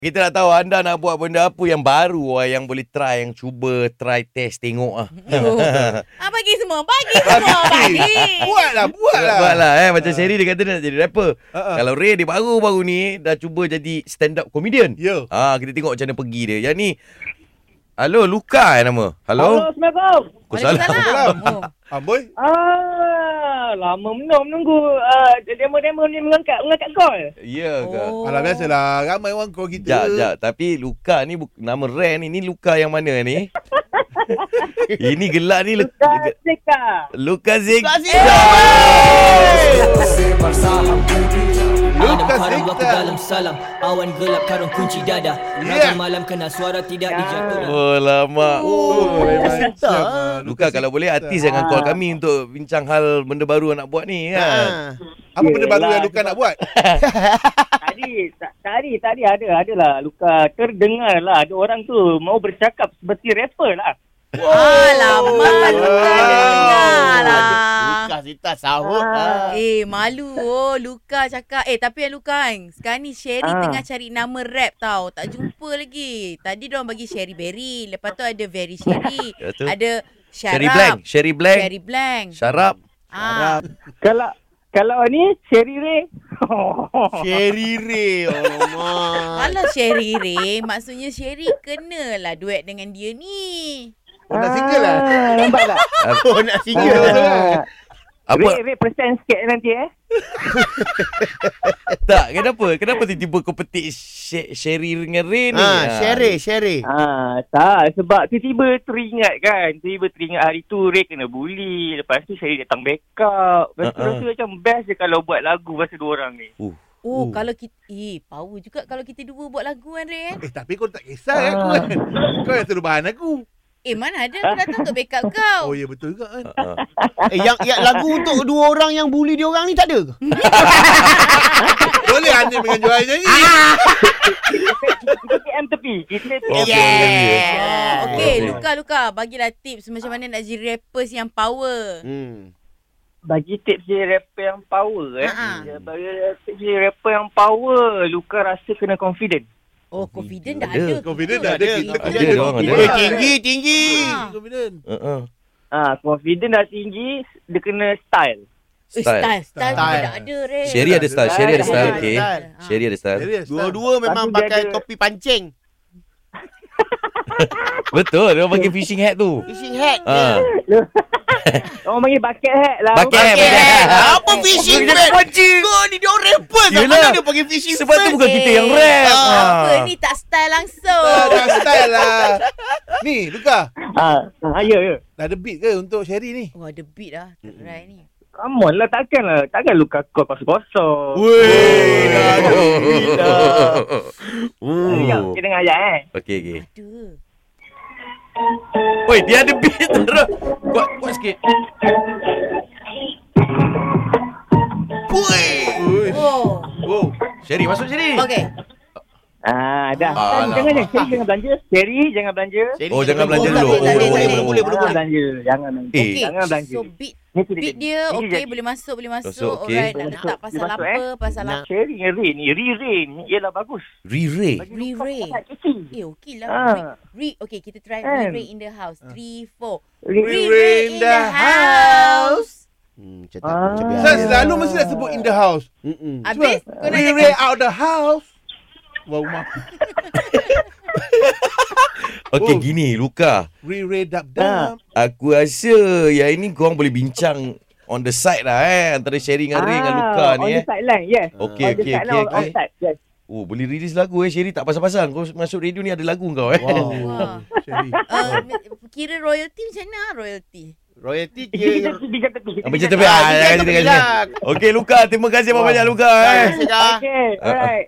Kita nak tahu anda nak buat benda apa yang baru yang boleh try, yang cuba try test tengok Bagi semua, bagi. Buatlah macam Sherry dia kata dia nak jadi rapper. Kalau Ray dia baru-baru ni dah cuba jadi stand up comedian. Ya. Kita tengok macam mana pergi dia. Yang ni halo, Luka nama. Halo. Assalamualaikum. Waalaikumsalam. Oh. Amboi. Lama menunggu demo-demo ni mengangkat call. Ya ke? Alah biasalah, ramai orang call kita. Jap. Tapi Luka ni nama Ray ni Luka yang mana ni? Ini gelak ni Zeka. Luka Zeka. Haram waktu dalam salam, awan gelap karung kunci dada. Raga malam kena suara tidak dijatuh. Oh lama. Memang Luka kalau boleh artis jangan call kami untuk bincang hal benda baru nak buat ni kan. Apa benda baru yang Luka nak buat? Tadi adalah Luka terdengar lah ada orang tu mau bercakap seperti rapper lah. Alamak, Luka dengar lah. Luka Zita sahut. Malu Luka cakap. Tapi Luka kan, sekarang ni Sherry tengah cari nama rap tau. Tak jumpa lagi. Tadi diorang bagi Sherry Berry. Lepas tu ada Very Sherry. Ada Syarab. Sherry Blank. Syarab. Kalau ni Sherry Ray. Sherry Ray. Kalau Sherry Ray, maksudnya Sherry kenalah duet dengan dia ni. Nak single lah. Nampak tak? Nak single lah. Apa? Ray present sikit nanti Tak, kenapa tiba-tiba kau petik Sherry dengan Ray ni? Sherry. Tak, sebab tiba-tiba teringat hari tu Ray kena bully. Lepas tu Sherry datang backup. Lepas tu macam best je kalau buat lagu pasal dua orang ni. Kalau kita power juga kalau kita dua buat lagu kan Ray. Tapi kau tak kisah aku kan. Kau yang suruh bahan aku. Mana ada aku datang untuk backup kau. Oh ya betul juga kan. Yang lagu untuk dua orang yang bully dia orang ni tak ada ke? Boleh Hanif dengan Joy nyanyi. Kita PM tepi. Okay, Luka, bagilah tips macam mana nak jadi rappers yang power. Bagi tips jadi rapper yang power Bagi tips jadi rapper yang power, Luka rasa kena confident. Confident dah ada. Confident dah ada. Tinggi. Confident. Confident dah tinggi, dia kena style. Style dah ada Ray. Sherry ada style. Okay. Sherry ada style. Dua-dua memang pakai topi pancing. Betul, dia pakai fishing hat tu. Fishing hat. Orang panggil bucket hat lah. Bucket hat. Apa fishing hat? Kau ni dia orang rapper. Mana dia pakai fishing hat? Sebab tu bukan kita yang rap. Apa ni tak style langsung. Dah style lah. Ni Luka. Ya. Dah ada beat ke untuk Sherry ni? Ada beat lah. Right ni. Come on lah, takkan Luka call kosong-kosong. Weh, dah ada beat dah. Kita dengar ayat Okay. Ada. Oi, dia ada beat terus. Kuat sikit. Oh. Sherry, masuk Sherry. Okay. Dah. Jangan belanja. Sherry, jangan belanja. Jangan belanja dulu. Boleh. Jangan belanja. Okay. Jangan belanja. So beat dia okay, boleh masuk. Okay. Alright, nak letak pasal apa? Pasal apa? Sherry dengan Ray ni, Ray ni ialah bagus. Ray. Ray. Okay lah. Okay, kita try Ray in the house. 3, 4. Ray in the house. Macam Saya selalu mesti nak sebut in the house. Habis kau nak Ray out the house. Wow, mak. Okay, gini Luka. Ray dap. Aku rasa yang ini korang boleh bincang on the side lah antara Sherry dengan Ray dengan Luka ni. On the sideline, yes. Okay. Yes. Boleh release lagu Sherry tak pasal-pasal. Kau masuk radio ni ada lagu kau Wah. Sherry. Kira royalty macam mana royalty Kita kira Macam tu. Okay Luka, terima kasih banyak Luka. Okay, alright.